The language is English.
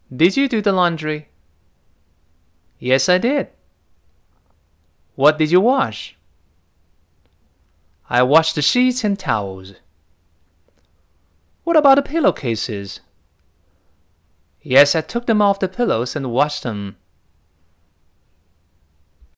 Did you do the laundry? Yes, I did. What did you wash? I washed the sheets and towels. What about the pillowcases? Yes, I took them off the pillows and washed them.